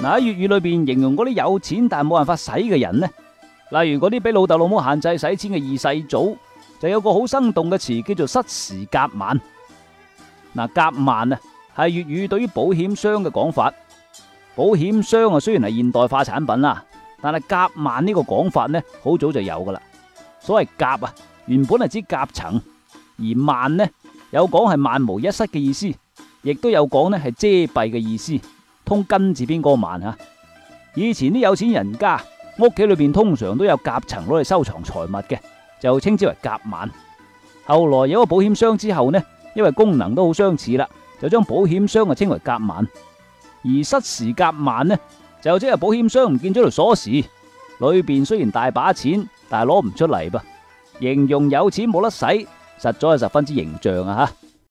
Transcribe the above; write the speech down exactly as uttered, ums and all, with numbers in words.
嗱，喺粵語裏邊形容嗰啲有錢但係冇辦法使嘅人呢，例如嗰啲俾老豆老母限制使錢嘅二世祖，就有個好生動嘅詞叫做失時夾萬。嗱，夾萬啊係粵語對於保險箱嘅講法。保險箱啊雖然係現代化產品啦，但係夾萬呢個講法呢好早就有噶啦。所謂夾啊原本係指夾層，而萬呢有講係萬無一失嘅意思，亦都有講呢係遮蔽嘅意思。通根字邊嗰個萬啊，以前啲有錢人家屋企裏邊通常都有夾層攞嚟收藏財物嘅，就稱之為夾萬。後來有個保險箱之後呢，因為功能都好相似啦，就將保險箱啊稱為夾萬。而失時夾萬呢，就即係保險箱唔見咗條鎖匙，裏邊雖然大把錢，但係攞唔出嚟噃，形容有錢冇得使，實在係十分之形象啊吓。